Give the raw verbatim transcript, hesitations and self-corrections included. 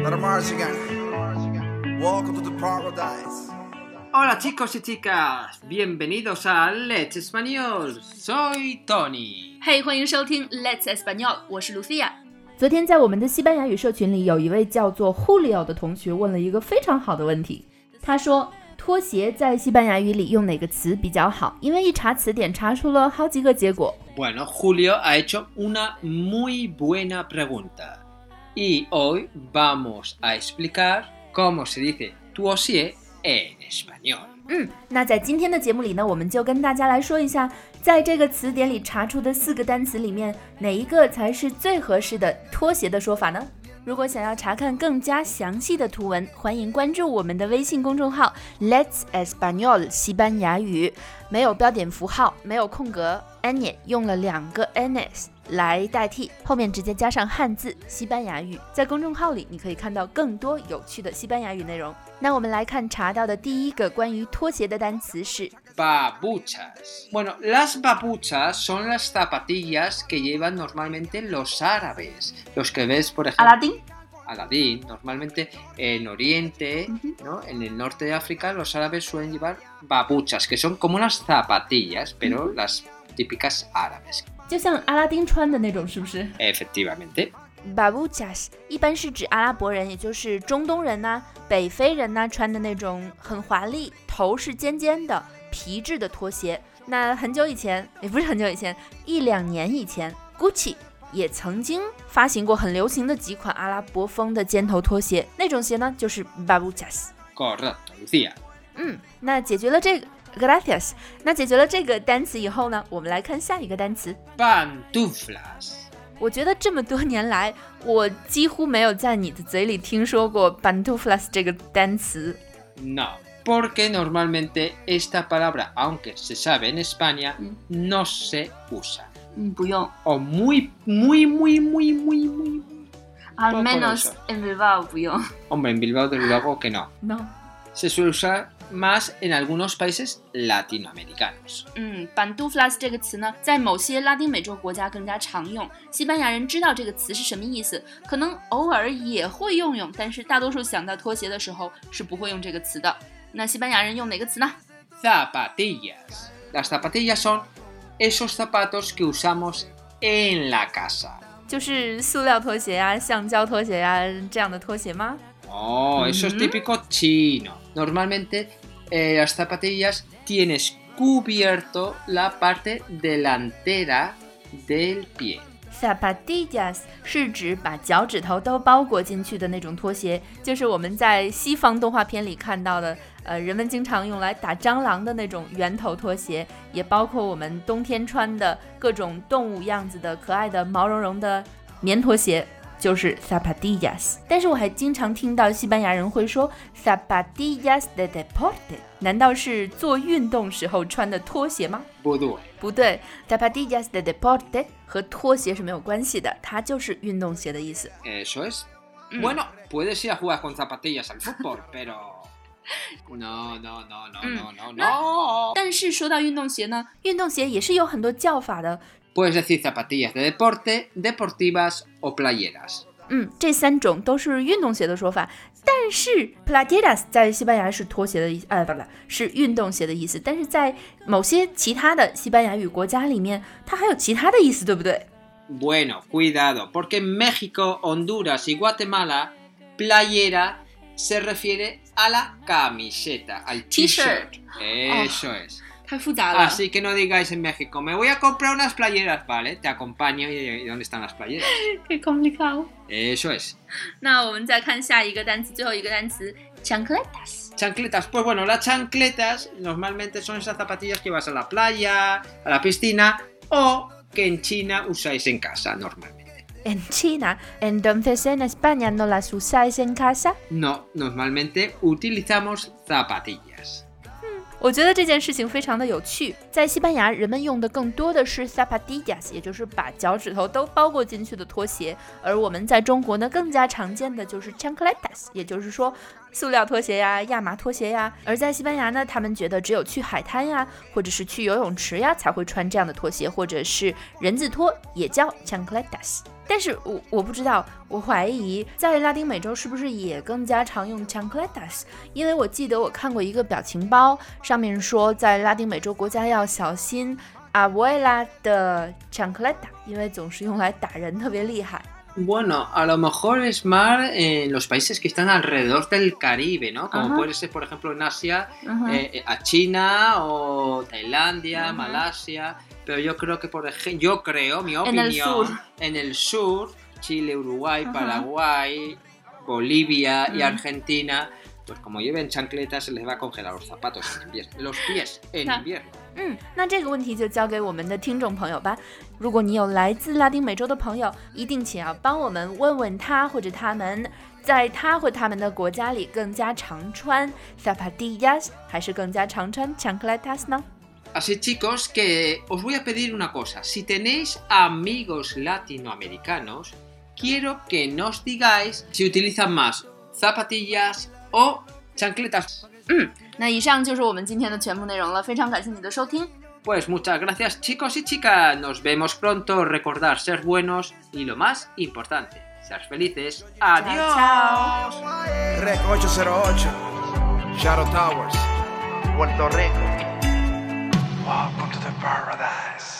March again. Welcome to the paradise. Hola chicos y chicas, bienvenidos a Let's Español. Soy Tony. 嘿、hey, 欢迎收听 Let's Español， 我是 Lucia。 昨天在我们的西班牙语社群里，有一位叫做 Julio 的同学问了一个非常好的问题。他说，拖鞋在西班牙语里用哪个词比较好？因为一查词典查出了好几个结果。 Bueno, Julio ha hecho una muy buena pregunta. Y hoy vamos a explicar cómo se dice tuosier en español. 嗯，那在今天的节目里呢，我们就跟大家来说一下，在这个词典里查出的四个单词里面，哪一个才是最合适的拖鞋的说法呢？如果想要查看更加详细的图文，欢迎关注我们的微信公众号 Let's Español 西班牙语，没有标点符号，没有空格 ，ñ 用了两个 ns 来代替，后面直接加上汉字西班牙语。在公众号里，你可以看到更多有趣的西班牙语内容。那我们来看查到的第一个关于拖鞋的单词是 babuchas. Bueno, las babuchas son las zapatillas que llevan normalmente los árabes. Los que ves, por ejemplo... Aladín. Aladín. Normalmente en Oriente, uh-huh. ¿no? En el norte de África, los árabes suelen llevar babuchas, que son como unas zapatillas, pero uh-huh. las típicas árabes. 就像阿拉丁穿的那种，是不是？ Efectivamente. Babuchas 一般是指阿拉伯人，也就是中东人呐、啊、北非人呐、啊、穿的那种很华丽、头是尖尖的皮质的拖鞋。那很久以前，也不是很久以前，一两年以前 ，Gucci 也曾经发行过很流行的几款阿拉伯风的尖头拖鞋，那种鞋呢就是 Babuchas。 Correcto, Lucía。 嗯，那解决了这个。Gracias。 那解决了这个单词以后呢，我们来看下一个单词 Pantuflas。 我觉得这么多年来，我几乎没有在你的嘴里听说过 pantuflas 这个单词。 No, porque normalmente esta palabra, aunque se sabe en España, 嗯 no se usa. 嗯，不用。 O muy, muy, muy, muy, muy, muy, Al menos en Bilbao 不用。 Hombre, en Bilbao desde luego que no. No. Se suele usar más en algunos países latinoamericanos. 嗯 pantuflas 这个词呢，在某些拉丁美洲国家更加常用。西班牙人知道这个词是什么意思，可能偶尔也会用用，但是大多数想到拖鞋的时候是不会用这个词的。那西班牙人用哪个词呢？ Zapatillas. Las zapatillas son esos zapatos que usamos en la casa. 就是塑料拖鞋呀、橡胶拖鞋呀这样的拖鞋吗？ Oh, eso es típico chino. Normalmente eh, las zapatillas tienes cubierto la parte delantera del pie. Zapatillas 是指把脚趾头都包裹进去的那种拖鞋，就是我们在西方动画片里看到的，呃，人们经常用来打蟑螂的那种圆头拖鞋，也包括我们冬天穿的各种动物样子的可爱的毛茸茸的棉拖鞋。就是 zapatillas， 但是我还经常听到西班牙人会说 zapatillas de deporte， 难道是做运动时候穿的拖鞋吗？ 不对， 不对 zapatillas de deporte 和拖鞋是没有关系的，它就是运动鞋的意思。 Eso es. Mm. Bueno, puedes ir a jugar con zapatillas al fútbol, pero no, no, no, no, no, no, no. 但是说到运动鞋呢， 运动鞋也是有很多叫法的。 Puedes decir zapatillas de deporte, deportivas o playeras. 嗯，这三种都是运动鞋的说法，但是 playeras 在西班牙是拖鞋的意思，呃，不是，是运动鞋的意思。但是在某些其他的西班牙语国家里面，它还有其他的意思，对不对？ Bueno, cuidado, porque en México, Honduras y Guatemala, playera se refiere a la camiseta, al t-shirt. Eso es. 太复杂了。 Así que no digáis en México, me voy a comprar unas playeras, vale, te acompaño. ¿Y dónde están las playeras? Qué complicado. Eso es. 那我们再看下一个单词，最后一个单词 chancletas. Chancletas, pues bueno, las chancletas normalmente son esas zapatillas que vas a la playa, a la piscina o que en China usáis en casa normalmente. En China, entonces en España no las usáis en casa? No, normalmente utilizamos zapatillas. 我觉得这件事情非常的有趣，在西班牙人们用的更多的是 zapatillas， 也就是把脚趾头都包裹进去的拖鞋，而我们在中国呢更加常见的就是 chancletas， 也就是说塑料拖鞋呀、亚麻拖鞋呀。而在西班牙呢，他们觉得只有去海滩呀，或者是去游泳池呀才会穿这样的拖鞋，或者是人字拖也叫 chancletas。 但是我我不知道，我怀疑在拉丁美洲是不是也更加常用 chancletas， 因为我记得我看过一个表情包，上面说在拉丁美洲国家要小心 abuela 的 chancleta， 因为总是用来打人，特别厉害。 Bueno, a lo mejor es más en los países que están alrededor del Caribe, ¿no? Como uh-huh. puede ser, por ejemplo, en Asia, uh-huh. eh, a China o Tailandia, uh-huh. Malasia. Pero yo creo que, por ejemplo, yo creo, mi opinión, en el sur, en el sur Chile, Uruguay, uh-huh. Paraguay, Bolivia uh-huh. y Argentina, pues como lleven chancletas se les va a congelar los zapatos en invierno, los pies en invierno. 嗯，那这个问题就交给我们的听众朋友吧。如果你有来自拉丁美洲的朋友，一定请要帮我们问问他或者他们，在他或他们的国家里更加常穿 zapatillas 还是更加常穿 chancletas 呢？ Así chicos, que os voy a pedir una cosa. Si tenéis amigos latinoamericanos, quiero que nos digáis si utilizan más zapatillas o chancletas. 嗯，那以上就是我们今天的全部内容了，非常感谢你的收听。 Pues muchas gracias chicos y chicas, nos vemos pronto, recordar ser buenos y lo más importante, ser felices. Adiós. Chao. Rec ocho cero ocho, Shadow Towers, Puerto Rico. Welcome to the paradise.